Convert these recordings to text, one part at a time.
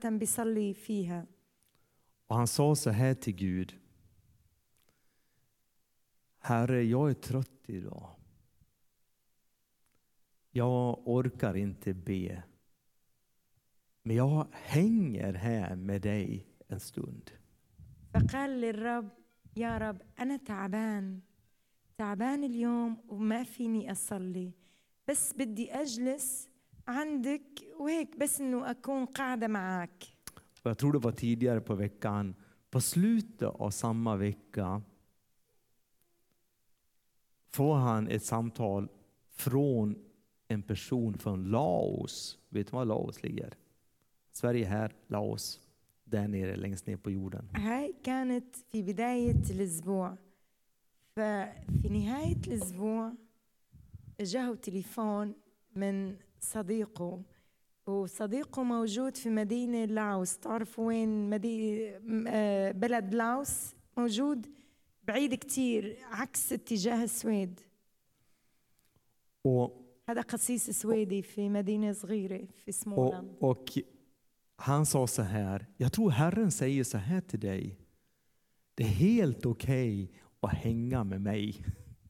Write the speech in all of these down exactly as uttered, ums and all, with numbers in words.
بيصلي فيها. Och han sa så här till Gud: Herre, jag är trött idag. Jag orkar inte be. Men jag hänger här med dig en stund. فقال للرب يا رب أنا تعبان تعبان اليوم وما فيني أصلي بس بدي أجلس عندك وهيك بس إنه أكون قاعدة معك. Och jag tror det var tidigare på veckan. På slutet av samma vecka får han ett samtal från en person från Laos. Vet du var Laos ligger? Sverige här, Laos. Där nere, längst ner på jorden. هاي كانت في بداية الأسبوع. ففي نهاية الأسبوع جاءه تليفون من صديقه وصديقه موجود في مدينة لاوس. تعرفوا وين مدينة بلد لاوس؟ موجود بعيد كتير عكس اتجاه السويد. Och, هذا قسيس سويدي في مدينة صغيرة في سمولاند. och, och han sa så här: jag tror Herren säger så här till dig. Det är helt okej okay att hänga med mig.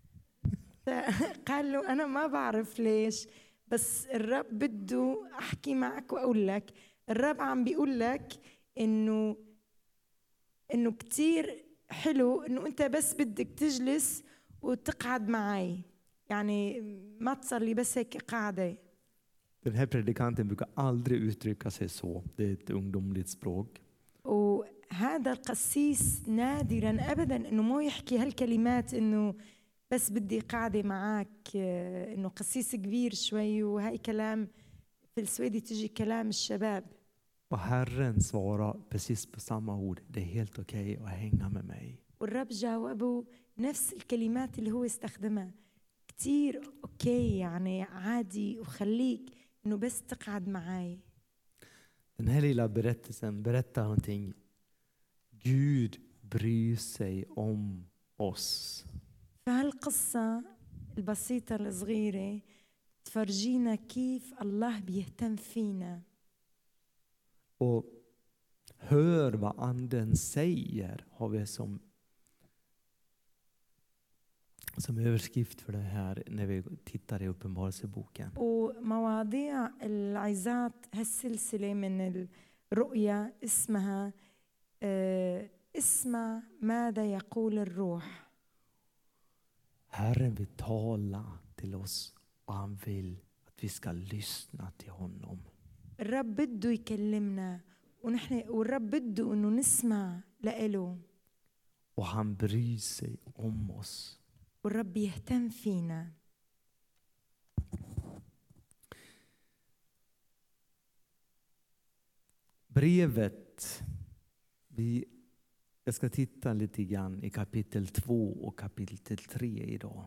قال له أنا ما بعرف ليش بس الرب بده أحكي معك وأقول لك الرب عم بيقول لك إنه إنه كتير حلو إنه أنت بس بدك تجلس وتقعد معي يعني ما تصلي بس هيك قاعدة. Den här predikanten brukar aldrig uttrycka sig så. Det är ett ungdomligt språk. وهذا القسيس نادرا أبدا إنه مو يحكي هالكلمات إنه بس بدي قاعدة معك إنه قسيس كبير شوي وهاي كلام في السويدي تجي كلام الشباب. Och Herren svarar precis på samma ord. Det är helt okej okay att hänga med mig. والرب جاوبه نفس الكلمات اللي هو استخدمها كتير أوكي يعني عادي وخليك إنه بس تقعد معي. Den här lilla berättelsen berättar någonting. Gud bryr sig om oss. فهالقصة البسيطة الصغيرة تفرجينا كيف الله بيهتم فينا. Och hör vad anden säger har vi som som överskrift för det här när vi tittar i Uppenbarelseboken. ومواضيع العظات هالسلسلة من الرؤيا اسمها اسمع ماذا يقول الروح. Herren vill tala till oss och han vill att vi ska lyssna till honom. الرب بده يكلمنا ونحن والرب بده إنه نسمع لإله. Och han bryr sig om oss. والرب يهتم فينا. Brevet, vi, jag ska titta lite grann i kapitel två och kapitel tre idag.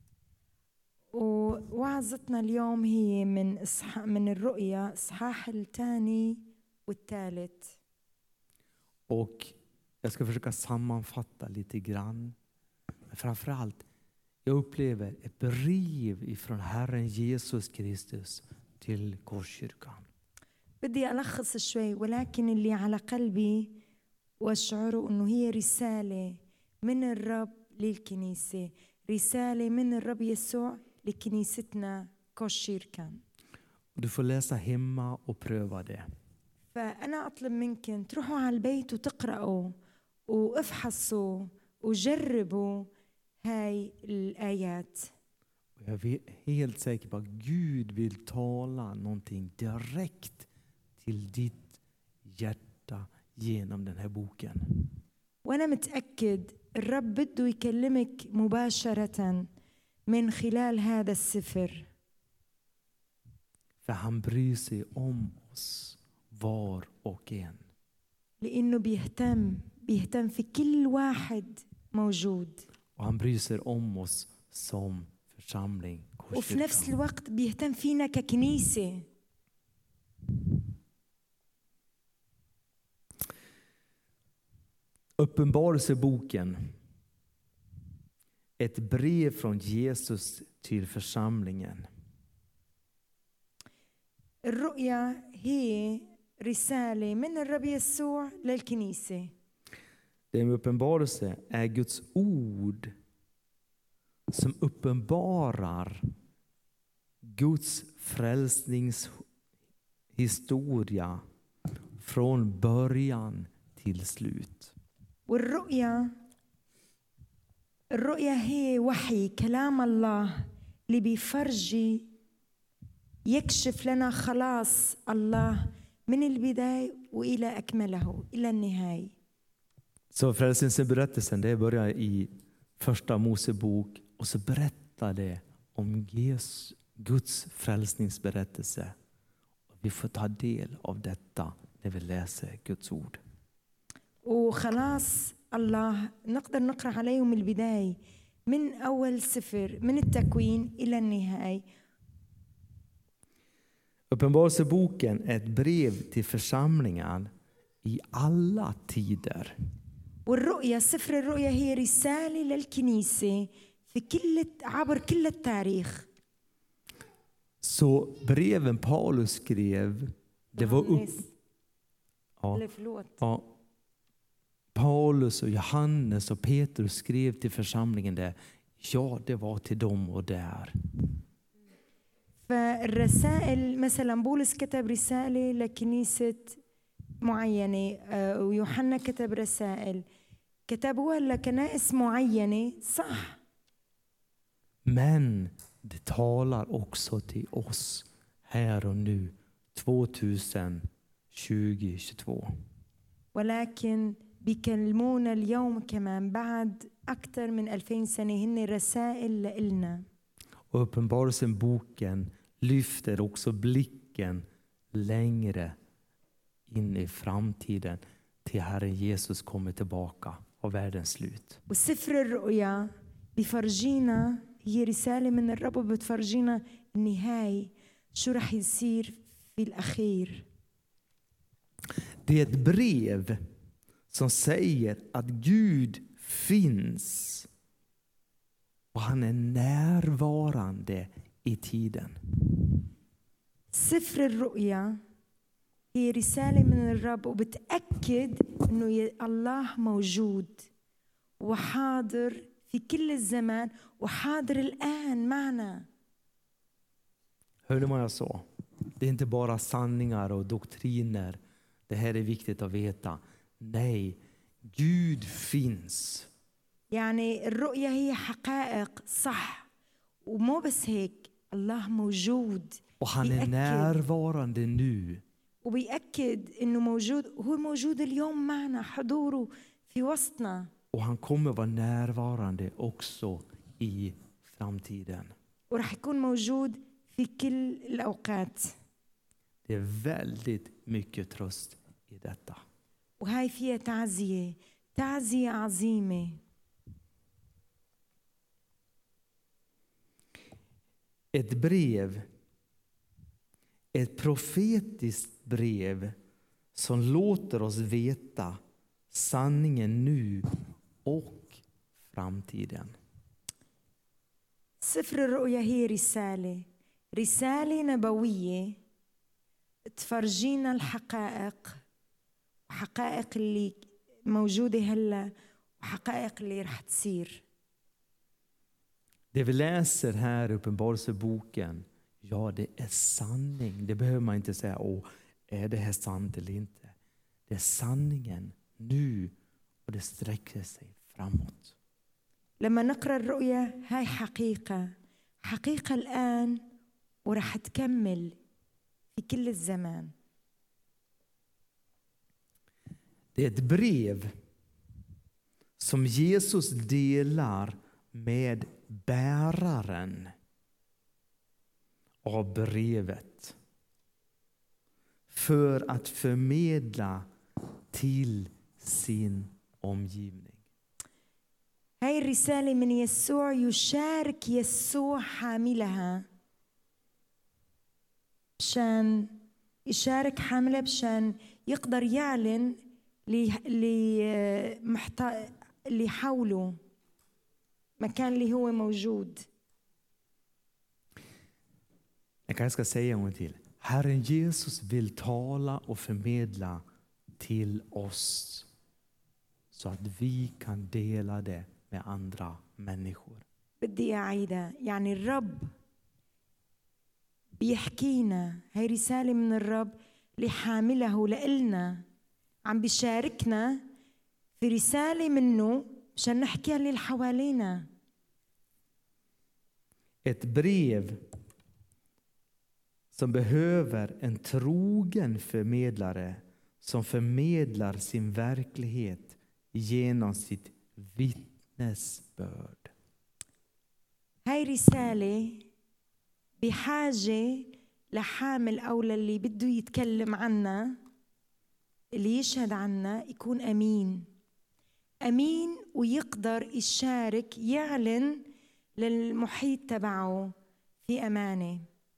ووعظتنا اليوم هي من إصحاح من الرؤيا إصحاح الثاني والثالث. Och jag ska försöka sammanfatta lite grann. Men framförallt, jag upplever ett brev ifrån Herren Jesus Kristus till Korskyrkan. بدي ألخص شوي ولكن اللي على قلبي وأشعره إنه هي رسالة من الرب للكنيسة. رسالة من الرب يسوع لكنيستنا Korskyrkan. Du får läsa hemma och pröva det. فأنا أطلب منكم تروحوا على البيت وتقرأوا وافحصوا وجربوا هاي الآيات. Jag är helt säker på att Gud vill tala någonting direkt till ditt hjärta genom den här boken. وأنا متأكد الرب بده يكلمك مباشرة من خلال هذا السفر. För han bryr sig om oss var och en. لأنه بيهتم بيهتم في كل واحد موجود. Och han bryr sig om oss som församling. وفي نفس الوقت بيهتم فينا ككنيسة. Uppenbarelseboken. Ett brev från Jesus till församlingen. الرؤيا هي رسالة من الرب يسوع للكنيسة. Det med uppenbarelse är Guds ord som uppenbarar Guds frälsningshistoria från början till slut. والرؤية الرؤية هي وحي كلام الله اللي بيفرجي يكشف لنا خلاص الله من البداية وإلى أكمله إلى النهاية. Så frälsningsberättelsen, det börjar i första Mosebok och så berättar det om Jesus, Guds frälsningsberättelse. Vi får ta del av detta när vi läser Guds ord. وخلاص الله نقدر نقرأ عليه من البداية من أول سفر من التكوين إلى النهاية. Uppenbarelseboken är ett brev till församlingar i alla tider. والرؤية سفر الرؤية هي رسالة للكنيسة في كل عبر كل التاريخ. Så breven Paulus skrev, det var upp... Ja, ja, Paulus och Johannes och Petrus skrev till församlingen där. Ja, det var till dem och där. فالرسائل مثلا بولس كتب رسالة لكنيسة معينة ويوحنا كتب رسائل كتبوها لكنائس معينة صح. Men det talar också till oss här och nu tjugo tjugotvå. ولكن بيكلمونا اليوم كمان بعد أكثر من ألفين سنة هن رسائل لإلنا. Och uppenbarelseboken lyfter också blicken längre in i framtiden till Herren Jesus kommer tillbaka och världens slut. وسفر الرؤيا بفرجينا هي رسالة من الرب بتفرجينا النهاية شو رح يصير في الأخير. Det är ett brev som säger att Gud finns och han är närvarande i tiden. سفر الرؤيا هي رسالة من الرب وبتأكد إنه الله موجود وحاضر في كل الزمان وحاضر الآن معنا. Hörde man jag sa? Det är inte bara sanningar och doktriner. Det här är viktigt att veta. Nej, Gud finns. يعني الرؤية هي حقائق صح ومو بس هيك الله موجود. Och han är närvarande nu. وبيأكد إنه موجود هو موجود اليوم معنا حضوره في وسطنا. Och han kommer vara närvarande också i framtiden. ورح يكون موجود في كل الأوقات. Det är väldigt mycket tröst i detta. وهاي فيها تعزية تعزية عظيمة. Ett brev, ett profetiskt brev som låter oss veta sanningen nu och framtiden. سفر الرؤيا هي رسالة رسالة نبوية تفرجينا الحقائق وحقائق اللي موجودة هلا وحقائق اللي رح تصير. Det vi läser här i Uppenbarelseboken, ja, det är sanning. Det behöver man inte säga, åh, är det här sant eller inte? Det är sanningen nu och det sträcker sig framåt. لما نقرأ الرؤيا هاي حقيقة حقيقة الآن ورح تكمل في كل الزمان. Det är ett brev som Jesus delar med bäraren av brevet för att förmedla till sin omgivning. هاي الرسالة من يسوع يشارك يسوع حاملها بشان يشارك حاملها بشان يقدر يعلن اللي محتاج اللي حوله مكان اللي هو موجود. Jag kanske ska säga en gång till. Herren Jesus vill tala och förmedla till oss så att vi kan dela det med andra människor. بدي أعيدها يعني الرب بيحكينا هاي رسالة من الرب لحامله لإلنا عم بيشاركنا في رسالة منه مشان نحكيها للي حوالينا. Ett brev som behöver en trogen förmedlare som förmedlar sin verklighet genom sitt vittnesbörd. هاي رسالة بحاجة لحامل أو للي بده يتكلم عنا اللي يشهد عنا يكون أمين أمين ويقدر يشارك يعلن للمحيط تبعه في أمانة.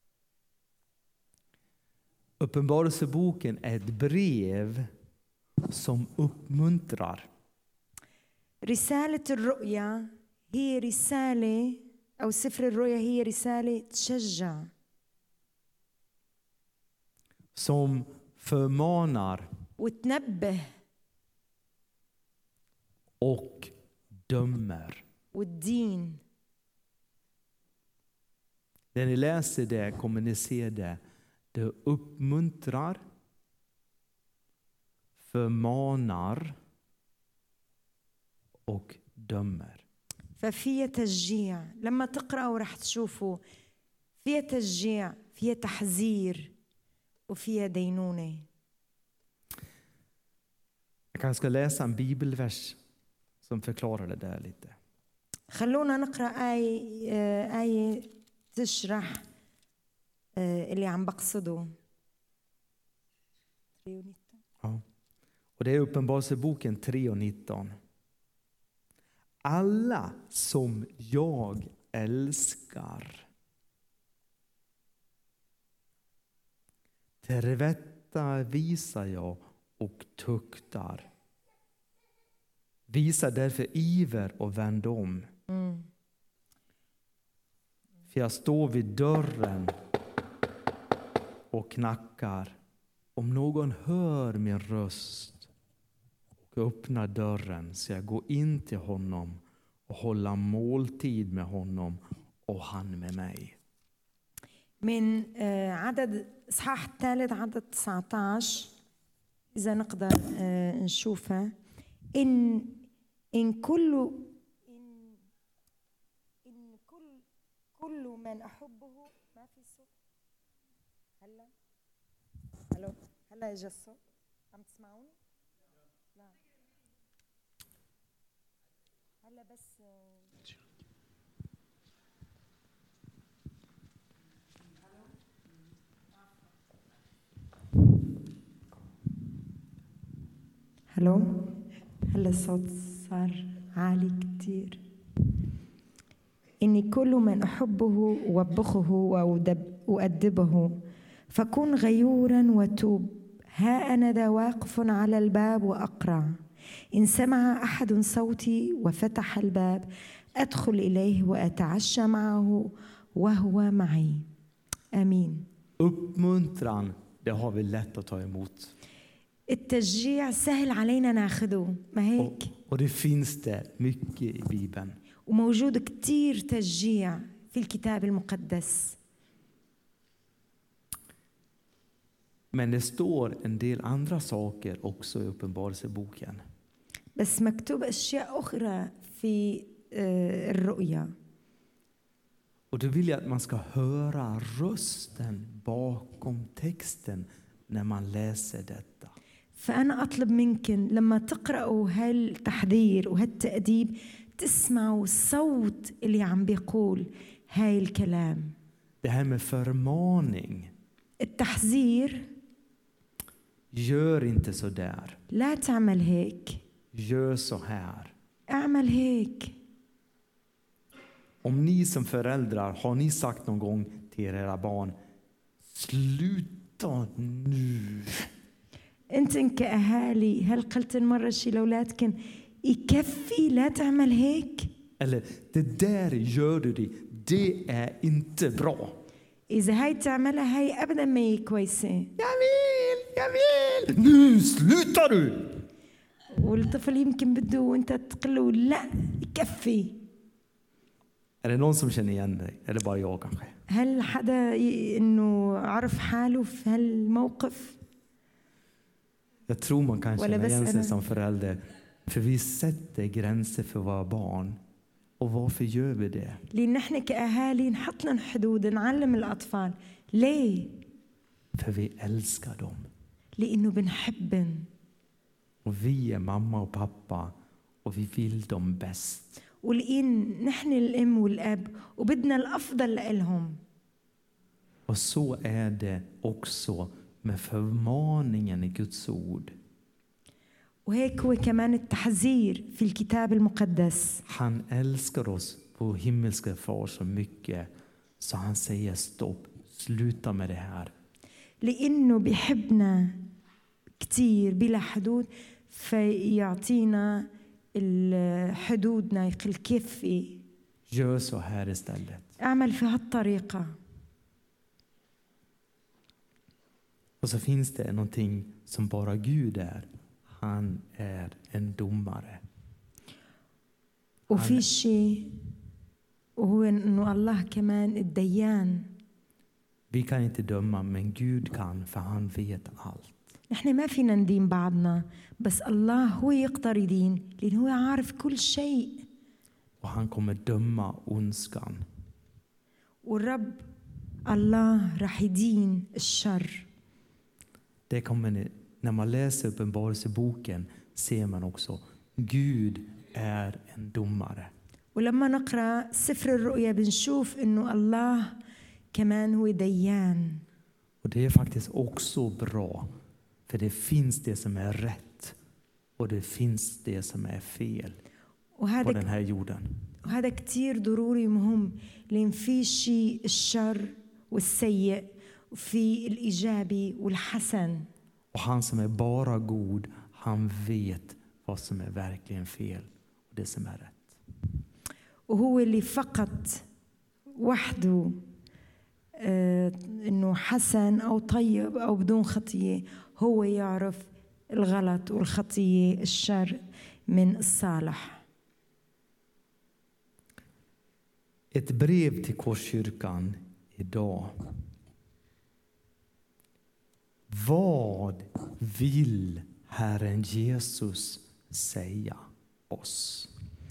Uppenbarelseboken är ett brev som uppmuntrar. رسالة الرؤيا هي رسالة أو سفر الرؤيا هي رسالة تشجع. Som förmanar وتنبه och dömer. والدين. När ni läser det, kommer ni se det. Det uppmuntrar, förmanar och dömer. ففيها تشجيع لما تقرأوا رح تشوفوا فيها تشجيع فيها تحذير وفيها دينونة. Jag kanske ska läsa en bibelvers som förklarar det där lite. خلونا نقرأ آية آية تشرح اللي عم بقصده. Ja. Och det är Uppenbarelseboken tre och nitton. Alla som jag älskar tillrättavisar jag och tuktar. Visa därför iver och vänd om. Mm. För jag står vid dörren och knackar. Om någon hör min röst och öppnar dörren så jag går in till honom och hålla måltid med honom och han med mig. من عدد إصحاح الثالث عدد تسعة عشر إذا نقدر نشوفها إن إن كل إن إن كل كل من أحبه ما في صوت. هلا هلا هلا إجا الصوت عم تسمعوني؟ لا هلا بس هلو هلا الصوت صار عالي كتير. إني كل من أحبه وبخه وأدبه فكن غيورا وتوب. ها أنا ذا واقف على الباب وأقرع. إن سمع أحد صوتي وفتح الباب أدخل إليه وأتعشى معه وهو معي. آمين. Uppmuntran, det har vi lätt att ta emot. التشجيع سهل علينا ناخده ما هيك. Och det finns det mycket i Bibeln. وموجود كتير تشجيع في الكتاب المقدس. Men det står en del andra saker också i Uppenbarelseboken. بس مكتوب أشياء أخرى في الرؤيا. Och då vill jag att man ska höra rösten bakom texten när man läser detta. فأنا أطلب منكم لما تقرأوا هالتحذير وهالتأديب تسمعوا الصوت اللي عم بيقول هاي الكلام. Det här med förmaning. التحذير. Gör inte så där. لا تعمل هيك. Gör så här. اعمل هيك. Om ni som föräldrar har ni sagt någon gång till era barn, sluta nu. انتن كأهالي هل قلتن مرة شي لأولادكن يكفي لا تعمل هيك؟ Eller det där gör du det, det är inte bra. إذا هاي تعملها هاي أبدا ما هي كويسة. Jag vill, jag vill. Nu slutar du! والطفل يمكن بده وأنت تقله لا يكفي. Är det någon som känner igen dig? Eller bara jag kanske? هل حدا ي- إنه عرف حاله في هالموقف؟ Jag tror man kan Eller känna igen bäst- sig som förälder. För vi sätter gränser för våra barn. Och varför gör vi det? لأن نحن كأهالي نحط لهم حدود نعلم الأطفال. ليه؟ För vi älskar dem. لأنه بنحبن Och vi är mamma och pappa. Och vi vill dem bäst. ولأن نحن الأم والأب وبدنا الأفضل لهم. Och så är det också med förmaningen i Guds ord. وهيك هو كمان التحذير في الكتاب المقدس. Han älskar oss på himmelska far så mycket så han säger stopp, sluta med det här. لأنه بيحبنا كتير بلا حدود فيعطينا حدودنا يقول كيف Gör så här istället. أعمل في هالطريقة. Och så finns det någonting som bara Gud är. Han är en domare. وفي شيء وهو إنه الله كمان الديان. Vi kan inte döma, men Gud kan, för han vet allt. نحن ما فينا ندين بعضنا بس الله هو يقدر يدين لأنه هو عارف كل شيء. Och han kommer döma ondskan. والرب الله راح يدين الشر. Det kommer ni, när man läser Uppenbarelseboken ser man också Gud är en domare. ولما نقرأ سفر الرؤيا بنشوف إنه الله كمان هو ديان. Och det är faktiskt också bra. För det finns det som är rätt. Och det finns det som är fel på وهذا den här jorden. وهذا كتير ضروري مهم لأن في شيء الشر والسيء وفي الإيجابي والحسن. Och han som är bara god, han vet vad som är verkligen fel och det som är rätt. وهو اللي فقط وحده آه إنه حسن أو طيب أو بدون خطية هو يعرف الغلط والخطية الشر من الصالح. Ett brev till Korskyrkan idag. Vad vill Herren Jesus säga oss?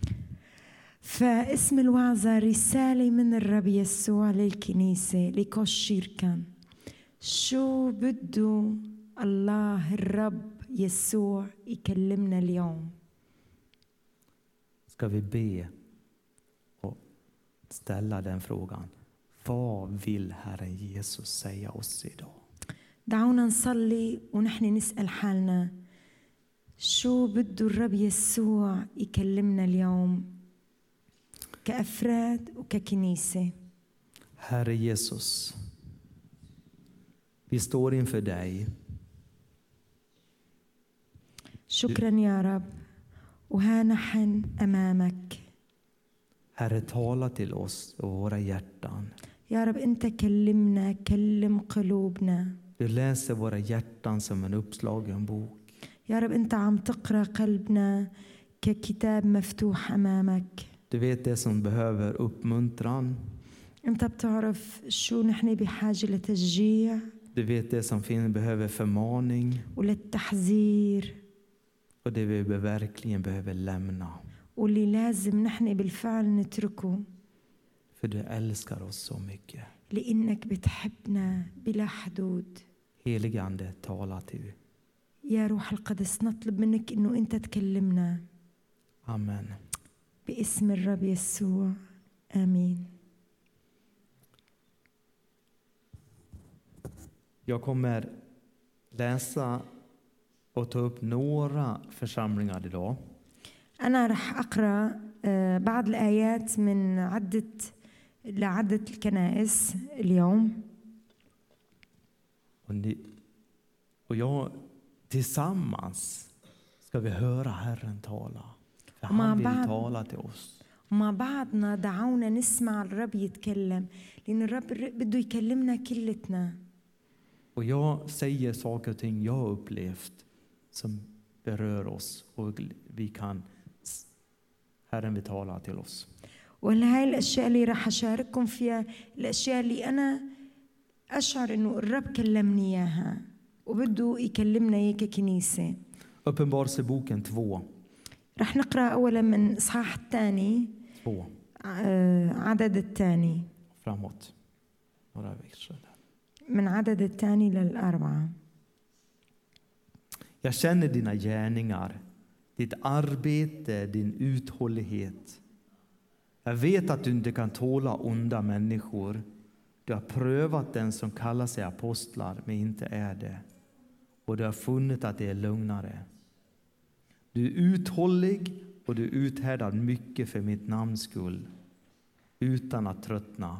فاسم الوعظة رسالة من الرب يسوع للكنيسة لكوشيركان. شو بده الله الرب يسوع يكلمنا اليوم؟ Ska vi be och ställa den frågan. Vad vill Herren Jesus säga oss idag? دعونا نصلي ونحن نسأل حالنا شو بده الرب يسوع يكلمنا اليوم كأفراد وككنيسة. Herre Jesus, vi står inför dig. شكرا يا رب وها نحن أمامك. Herre, tala till oss och våra hjärtan. يا رب أنت كلمنا كلم قلوبنا. Du läser våra hjärtan som en uppslagen bok. يا رب أنت عم تقرأ قلبنا ككتاب مفتوح أمامك. Du vet det som behöver uppmuntran. أنت بتعرف شو نحن بحاجة لتشجيع. Du vet det som finns behöver förmaning. وللتحذير. Och det vi verkligen behöver lämna. واللي لازم نحن بالفعل نتركه. För du älskar oss så mycket. لأنك بتحبنا بلا حدود. Helige Ande, tala till. يا روح القدس نطلب منك إنه أنت تكلمنا. Amen. باسم الرب يسوع آمين. Jag kommer läsa och ta upp några församlingar idag. أنا رح أقرأ بعض الآيات من عدة لعدة الكنائس اليوم. Och, ni, och jag tillsammans ska vi höra Herren tala. För han vill tala till oss. ومع بعضنا دعونا نسمع الرب يتكلم، لأن الرب بده يكلمنا كلتنا. Och jag säger saker och ting jag har upplevt som berör oss och vi kan, Herren vill tala till oss. وهاي الأشياء اللي راح أشارككم فيها الأشياء اللي أنا أشعر إنه الرب كلمني إياها وبده يكلمنا إياها ككنيسة. Uppenbarelseboken två. راح نقرأ أولا من إصحاح الثاني två. عدد الثاني. Framåt. Några verser. من عدد الثاني للأربعة. Jag känner dina gärningar, ditt arbete, din uthållighet. Jag vet att du inte kan tåla onda människor. Du har prövat den som kallar sig apostlar men inte är det. Och du har funnit att det är lögnare. Du är uthållig och du uthärdar mycket för mitt namns skull utan att tröttna.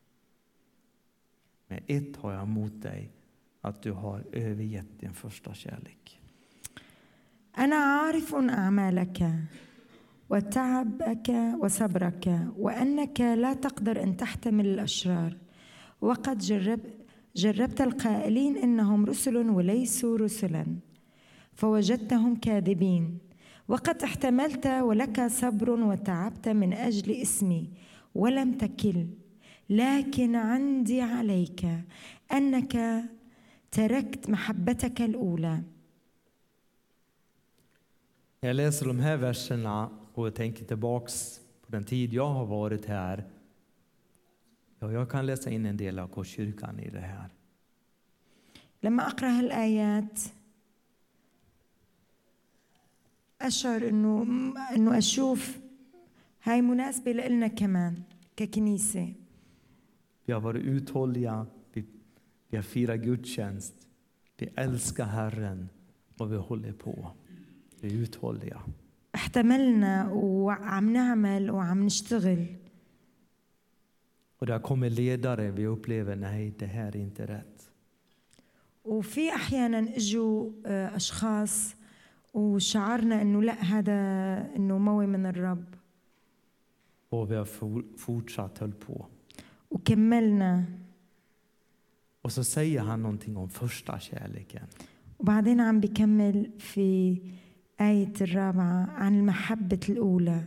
Men ett har jag emot dig, att du har övergett din första kärlek. أنا عارف أعمالك وتعبك وصبرك وأنك لا تقدر أن تحتمل الأشرار وقد جرب جربت القائلين إنهم رسل وليسوا رسلا فوجدتهم كاذبين وقد احتملت ولك صبر وتعبت من أجل اسمي ولم تكل لكن عندي عليك أنك تركت محبتك الأولى. Jag läser de här verserna och jag tänker tillbaks på den tid jag har varit här. Ja, jag kan läsa in en del av Korskyrkan i det här. لما أقرأ هالآيات أشعر إنه إنه أشوف هاي مناسبة لنا كمان ككنيسة. Vi har varit uthålliga, vi, vi har firat gudstjänst, vi älskar Herren och vi håller på. Vi är uthålliga. احتملنا وعم نعمل وعم نشتغل. Och där kommer ledare, vi upplever nej, det här är inte rätt. وفي أحيانا إجوا أشخاص وشعرنا إنه لا هذا إنه موي من الرب. Och vi har fortsatt höll på. وكملنا. Och så säger han någonting om första kärleken. وبعدين عم بيكمل في آية الرابعة عن المحبة الأولى.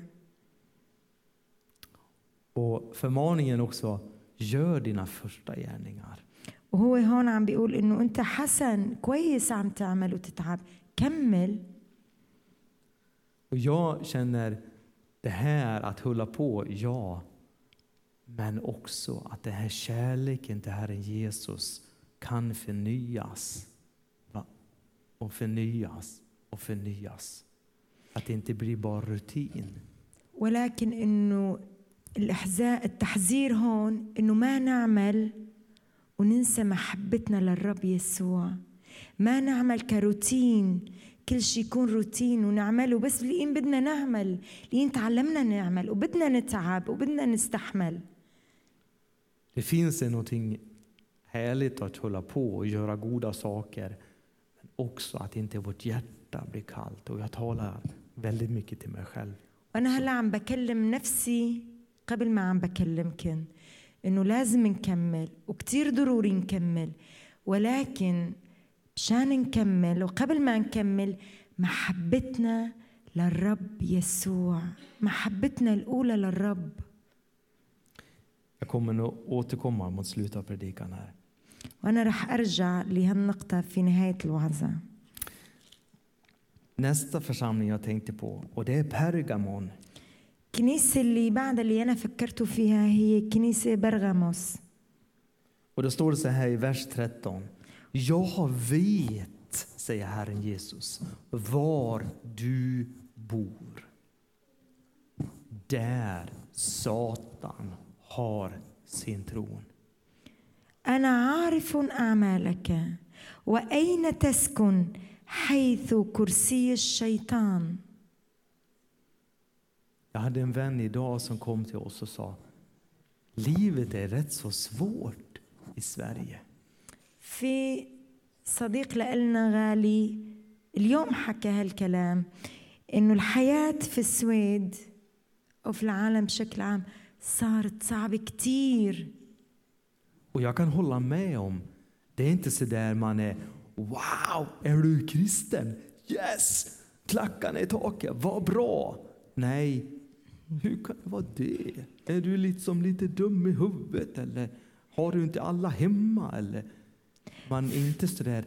Och förmaningen också, gör dina första gärningar. وهو هون عم بيقول إنه أنت حسن كويس عم تعمل وتتعب كمل. Och jag känner det här att hålla på, ja. Men också att den här kärleken till Herren Jesus kan förnyas. Va? Och förnyas och förnyas. Att det inte blir bara rutin. ولكن إنه الإحزاء التحذير هون إنه ما نعمل وننسى محبتنا للرب يسوع. ما نعمل كروتين، كل شيء يكون روتين ونعمله بس لين بدنا نعمل، لين تعلمنا نعمل وبدنا نتعب وبدنا نستحمل. Det finns någonting härligt att hålla på och göra goda saker, men också att inte vårt hjärta blir kallt. Och jag talar väldigt mycket till mig själv. وأنا هلا عم بكلم نفسي قبل ما عم بكلمكن إنه لازم نكمل وكتير ضروري نكمل، ولكن مشان نكمل وقبل ما نكمل محبتنا للرب يسوع، محبتنا الأولى للرب. Jag kommer nog återkomma mot slutet av predikan här. وأنا رح أرجع لهالنقطة في نهاية الوعظة. Nästa församling jag tänkte på, och det är Pergamon. الكنيسة اللي بعد اللي أنا فكرت فيها هي كنيسة برغاموس. Och då står det så här i vers tretton. Jag vet, säger Herren Jesus, var du bor. Där Satan har sin tron. أنا عارف أعمالك وأين تسكن حيث كرسي الشيطان. Jag hade en vän idag som kom till oss och sa, livet är rätt så svårt i Sverige. في صديق لنا غالي اليوم حكى هالكلام إنه الحياة في السويد أو في العالم بشكل عام صارت صعبة كتير. Och jag kan hålla med om, det är inte så där man är, wow, är du kristen? Yes! Klackarna i taket, vad bra! Nej, hur kan det vara det? Är du liksom lite dum i huvudet eller har du inte alla hemma? Eller man är inte så där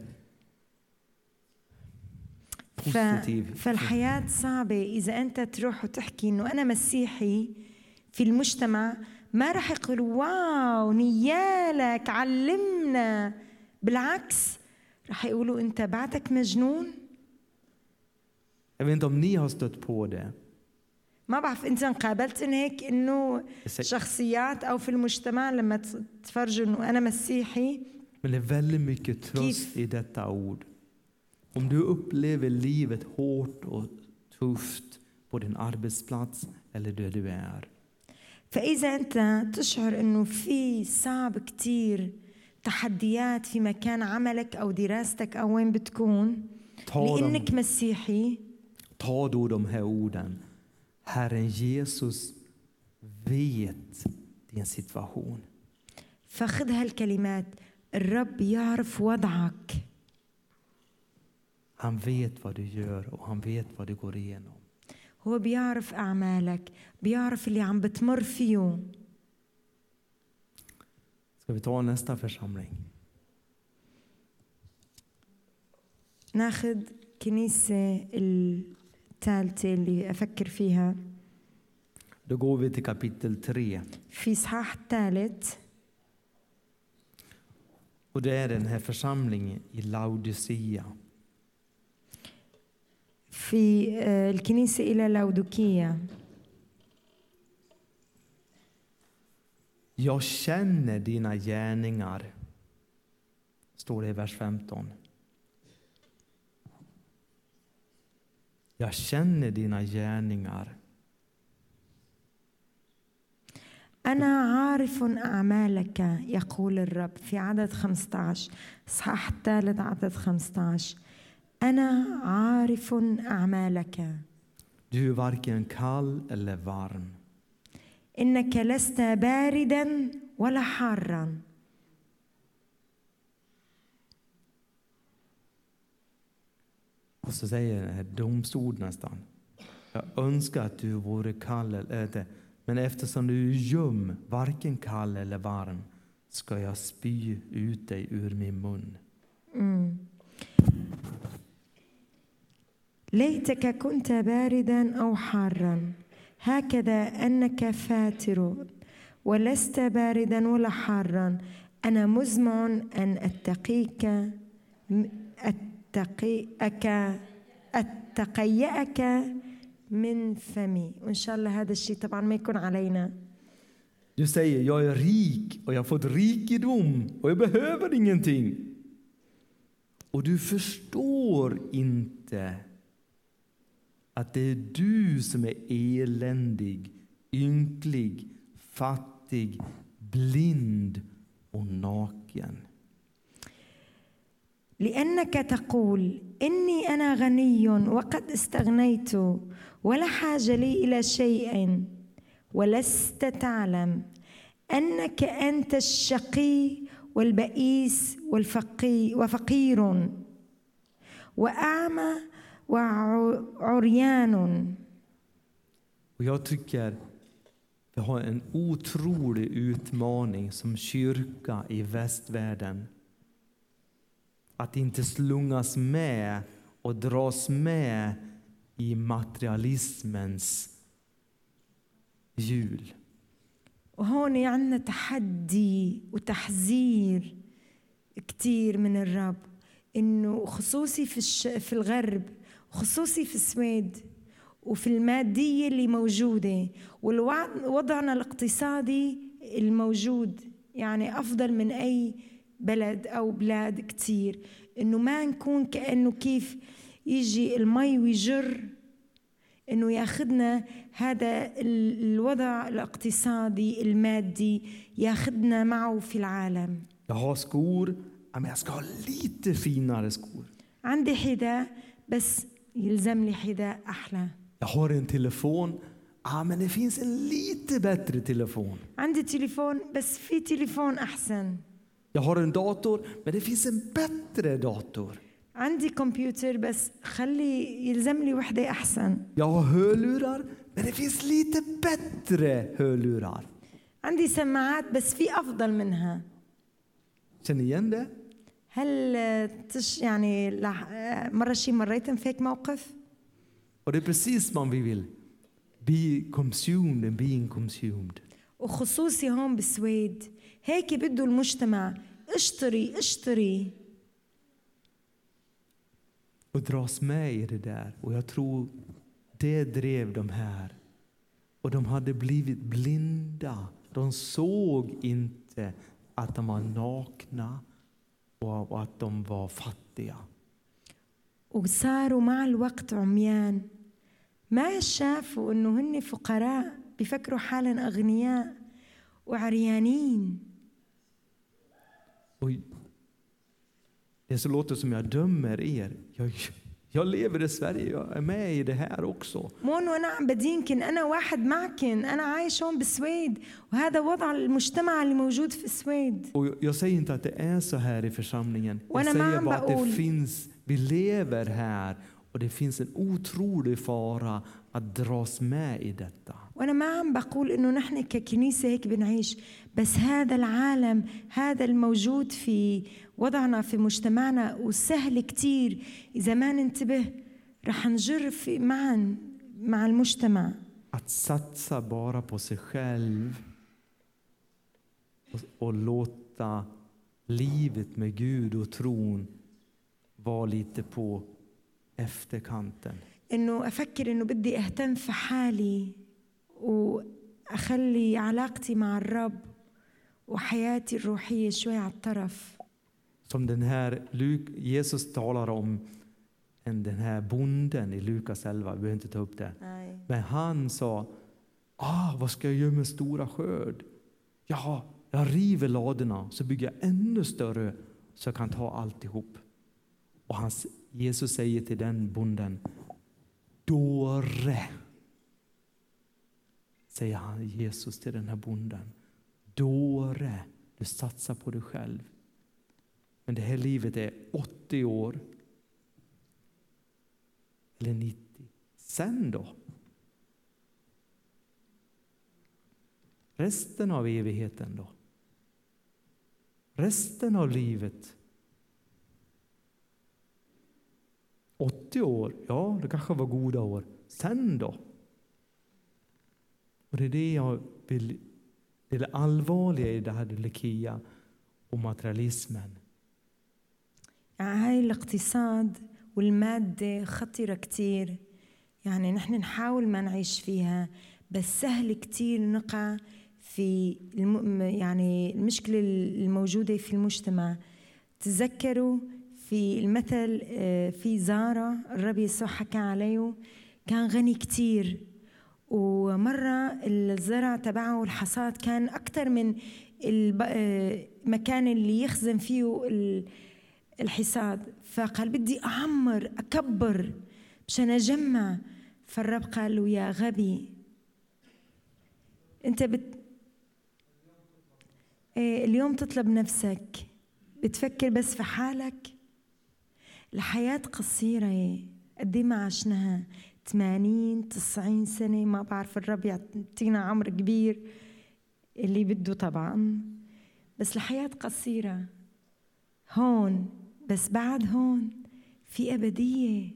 positiv. فالحياة صعبة إذا أنت تروح وتحكي إنه أنا مسيحي في المجتمع، ما رح يقولوا واو نيالك علمنا، بالعكس رح يقولوا أنت بعدك مجنون. Jag vet inte om ni har stött på det. ما بعرف أنت قابلت إن هيك إنه شخصيات أو في المجتمع لما تفرجوا إنه أنا مسيحي. Men det är väldigt mycket tröst i detta ord. Om du upplever livet hårt och tufft på din arbetsplats eller där du är. فإذا أنت تشعر إنه في صعب كتير تحديات في مكان عملك أو دراستك أو وين بتكون لأنك مسيحي. Ta då de här orden. Herren Jesus vet din situation. فخذ هالكلمات. الرب يعرف وضعك. Han vet vad du gör och han vet vad du går igenom. هو بيعرف أعمالك، بيعرف اللي عم بتمر فيه. Ska vi ta nästa församling? ناخذ كنيسة الثالثة اللي أفكر فيها. Då går vi till kapitel tre. في إصحاح الثالث. Och det är den här församlingen i Laodicea. في الكنيسة إلى لاودوكية. Jag känner dina gärningar, står det i vers femton. Jag känner dina gärningar. أنا عارف أعمالك يقول الرب في عدد خمسة عشر، إصحاح الثالث عدد خمسة عشر. أنا عارف أعمالك. Du är varken kall eller varm. إنك لست باردا ولا حارا. Och så säger den här domstol nästan. Jag önskar att du vore kall eller inte. Men eftersom du är göm, varken kall eller varm, ska jag spy ut dig ur min mun. Mm. ليتك كنت باردا أو حارا، هكذا أنك فاتر ولست باردا ولا حارا. أنا مزمع أن أتقيك أتقيك أتقيأك من فمي. وإن شاء الله هذا الشيء طبعا ما يكون علينا. Du säger, jag är rik och jag har fått rikedom och jag behöver ingenting. Och du förstår inte att det är du som är eländig, ynklig, fattig, blind och naken. لأنك تقول إني أنا غني وقد استغنيت ولا حاجة لي إلى شيء، ولست تعلم أنك أنت الشقي والبئيس والفقي وفقير وأعمى وعريان. Och jag tycker vi har en otrolig utmaning som kyrka i västvärlden. Att inte slungas med och dras med i materialismens hjul. وهون عندنا تحدي وتحذير كتير من الرب، إنه خصوصي في الش... في الغرب، خصوصي في السويد وفي المادية اللي موجودة ووضعنا الاقتصادي الموجود يعني أفضل من أي بلد أو بلاد كتير، إنه ما نكون كأنه كيف يجي المي ويجر، إنه ياخدنا هذا الوضع الاقتصادي المادي ياخدنا معه في العالم. Jag har skor, men jag ska ha lite finare skor. عندي حذاء بس يلزم لي حذاء أحلى. Jag har en telefon, ah, men det finns en lite bättre telefon. عندي تليفون بس في تليفون أحسن. Jag har en dator, men det finns en bättre dator. عندي كمبيوتر بس خلي يلزم لي وحدة أحسن. Jag har hörlurar, men det finns lite bättre hörlurar. عندي سماعات بس في أفضل منها. Känner ni igen det? هل تش يعني مرة شي مريتم في هيك موقف؟ Och det är precis man vi vill. Be consumed and being consumed. وخصوصي هون بالسويد هيك بده المجتمع اشتري اشتري. Och dras med i det där. Och jag tror det drev de här. Och de hade blivit blinda. De såg inte att de var nakna och att de var fattiga. وصاروا مع الوقت عميان ما شافوا انه هن فقراء بيفكروا حالا اغنياء وعريانين. Och det så låter som jag dömer er. Jag, jag lever i Sverige, jag är med i det här också. مو وانا عم بدينكن انا واحد معكن انا عايش هون بالسويد وهذا وضع المجتمع اللي موجود في السويد. Och jag säger inte att det är så här i församlingen. Jag وانا säger ما bara عم att det بقول finns, vi lever här och det finns en otrolig fara att dras med i detta. وانا ما عم بقول انه نحن ككنيسه هيك بنعيش بس هذا العالم هذا الموجود في وضعنا في مجتمعنا وسهل كتير إذا ما ننتبه رح نجر في معا مع المجتمع. Att satsa bara på sig själv och, och låta livet med Gud och tron vara lite på efterkanten. إنه أفكر إنه بدي أهتم في حالي وأخلي علاقتي مع الرب وحياتي الروحية شوي على الطرف. Som den här Jesus talar om en den här bonden i Lukas elva, vi behöver inte ta upp det. Nej. Men han sa, ah, vad ska jag göra med stora skörd? Ja, jag river ladorna så bygger jag ännu större så jag kan ta alltihop. Och hans, Jesus säger till den bonden, dåre, säger han Jesus till den här bonden. Dåre, du satsar på dig själv. Men det här livet är åttio år. Eller nittio. Sen då? Resten av evigheten då? Resten av livet? åttio år, ja det kanske var goda år. Sen då? Och det är det jag vill, det är det allvarliga i det här Laodikia och materialismen. يعني هاي الاقتصاد والمادة خطيرة كتير. يعني نحن نحاول ما نعيش فيها بس سهل كتير نقع في الم... يعني المشكلة الموجودة في المجتمع. تذكروا في المثل في زارة الرب يسوع حكى عليه كان غني كتير ومرة الزرع تبعه والحصاد كان أكتر من المكان اللي يخزن فيه الحصاد. فقال بدي أعمر أكبر مشان أجمع. فالرب قال له يا غبي أنت بت... اليوم تطلب نفسك بتفكر بس في حالك. الحياة قصيرة قد ما عشناها ثمانين تسعين سنة ما بعرف الرب يعطينا عمر كبير اللي بده طبعا بس الحياة قصيرة هون بس بعد هون في أبدية.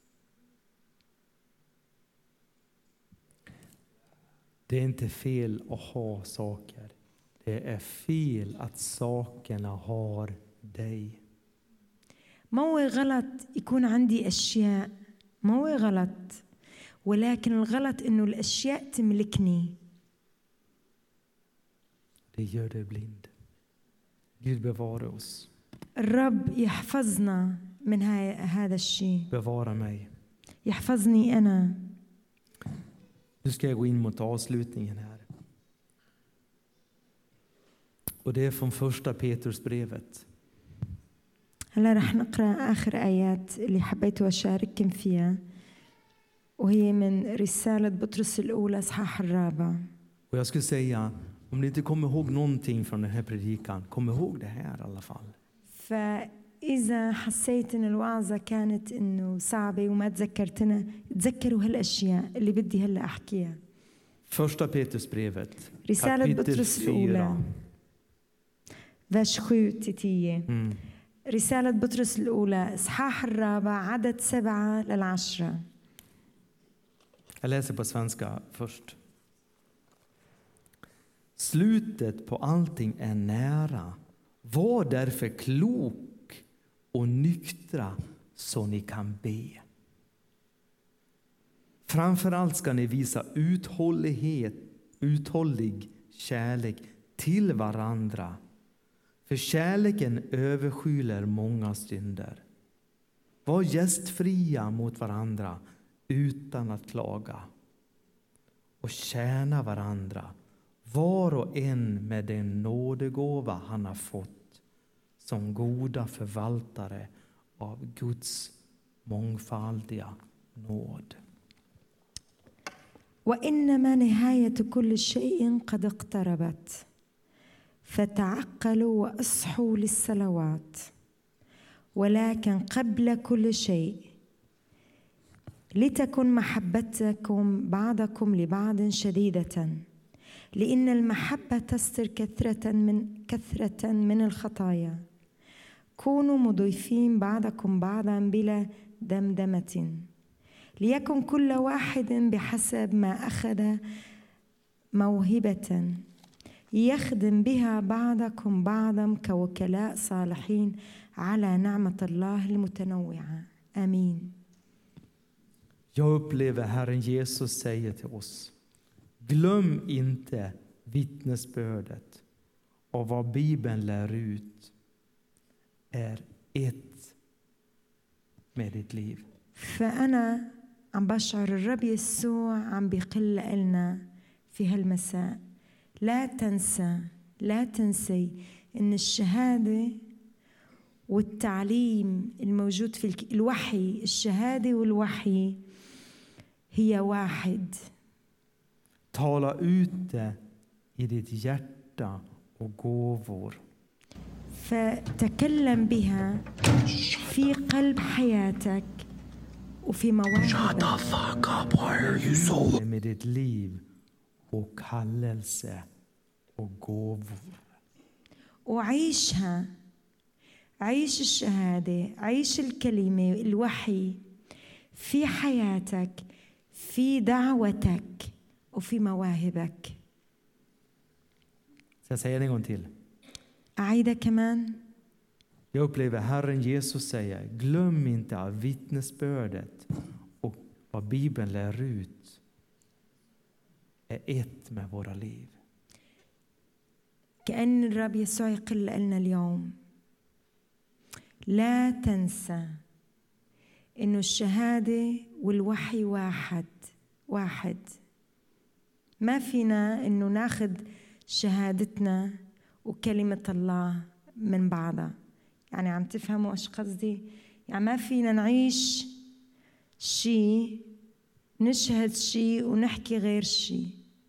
Det är inte fel att ha saker. Det är fel att sakerna har dig. ما هو غلط يكون عندي أشياء ما هو غلط ولكن الغلط إنه الأشياء تملكني. Det gör dig blind. Gud bevara oss. الرب يحفظنا من هذا الشيء. Bevara mig. يحفظني أنا. Nu ska jag gå in mot avslutningen här. Och det är från första Petrusbrevet. هلا رح نقرأ آخر آيات اللي حبيت أشارككم فيها. وهي من رسالة بطرس الأولى إصحاح الرابع. Och jag skulle säga, om ni inte kommer ihåg någonting från den här predikan, kom ihåg det här i alla fall. فإذا حسيت إن الوعظة كانت إنه صعبة وما تذكرتنا، تذكروا هالأشياء اللي بدي هلا أحكيها. Första Petrusbrevet, رسالة kapitel بطرس الأولى fyra. vers sju till tio. Mm. رسالة بطرس الأولى إصحاح الرابع عدد سبعة للعشرة. Jag läser på svenska först. Slutet på allting är nära. Var därför klok och nyktra så ni kan be. Framförallt ska ni visa uthållighet, uthållig kärlek till varandra. För kärleken överskyler många synder. Var gästfria mot varandra utan att klaga. Och tjäna varandra, var och en med den nådegåva han har fått, som goda förvaltare av Guds mångfaldiga nåd. وإنما نهاية كل شيء قد اقتربت فتعقلوا وأصحوا للصلوات. ولكن قبل كل شيء لتكن محبتكم بعضكم لبعض شديدة، لأن المحبة تستر كثرة من كثرة من الخطايا. كونوا مضيفين بعضكم بعضا بلا دمدمة، ليكن كل واحد بحسب ما أخذ موهبة يخدم بها بعضكم بعضا كوكلاء صالحين على نعمة الله المتنوعة. آمين. Jag upplever Herren Jesus säger till oss: glöm inte vittnesbördet och vad Bibeln lär ut är ett med ditt liv. فأنا عم بشعر الرب يسوع عم بيقل لنا في هالمساء. لا تنسى لا تنسي إن الشهادة والتعليم الموجود في الوحي، الشهادة والوحي هي واحد. Tala ut det i ditt hjärta och gåvor. فتكلم بها في قلب حياتك وفي مواهبك. Med ditt liv och kallelse och gåvor. وعيشها. عيش الشهادة، عيش الكلمة، الوحي في حياتك، في دعوتك وفي مواهبك. Så jag säger en gång till. أعيدها كمان. Jag upplever Herren Jesus säger: glöm inte av vittnesbördet och vad Bibeln lär ut är ett med våra liv. كأن الرب يسوع يقول لنا اليوم لا تنسى إنه الشهادة والوحي واحد واحد. ما فينا إنه ناخذ شهادتنا وكلمة الله من بعضها. يعني عم تفهموا ايش قصدي؟ يعني ما فينا نعيش شيء، نشهد شيء ونحكي غير شيء.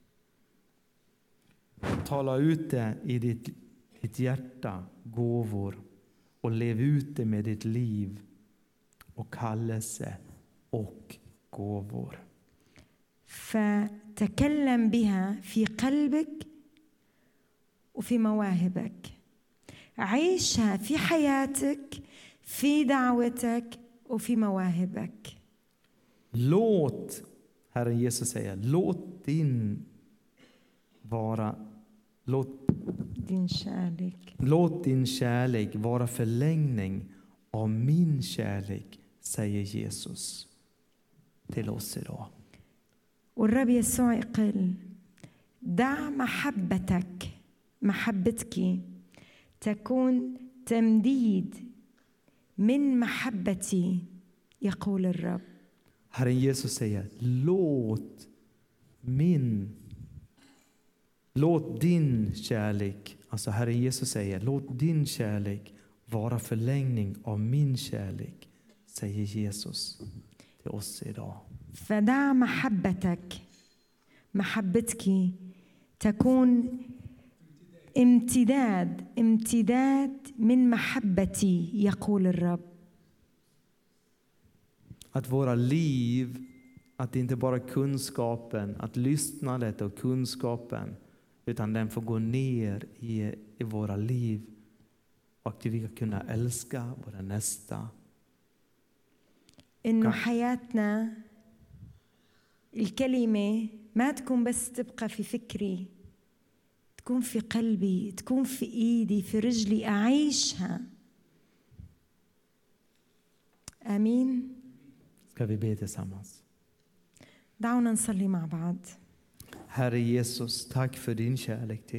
Tala ut det i ditt, ditt hjärta, gåvor, och lev ut det med ditt liv och kallelse och gåvor. فتكلم بها في قلبك وفي مواهبك. عيشها في حياتك، في دعوتك وفي مواهبك. Låt, Herren Jesus säger, låt din vara låt din kärlek. Låt din kärlek vara förlängning av min kärlek, säger Jesus till oss idag. والرب يسوع يقول دع محبتك محبتك تكون تمديد من محبتي يقول الرب. Herren Jesus säger: låt min låt din kärlek, alltså Herren Jesus säger, låt din kärlek vara förlängning av min kärlek, säger Jesus till oss idag. فدع محبتك محبتك تكون امتداد امتداد من محبتي يقول الرب. Att våra liv, att inte bara kunskapen, att lyssnandet och kunskapen, utan den får gå ner i, i våra liv och att vi ska kunna älska våra nästa. إنه حياتنا الكلمة ما تكون بس تبقى في فكري، تكون في قلبي، تكون في إيدي، في رجلي، أعيشها. آمين. Ska vi be tillsammans? دعونا نصلي مع بعض. Herre Jesus, tack för din kärlek till